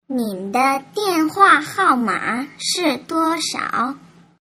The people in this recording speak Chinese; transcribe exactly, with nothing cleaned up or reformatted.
您的电话号码是多少？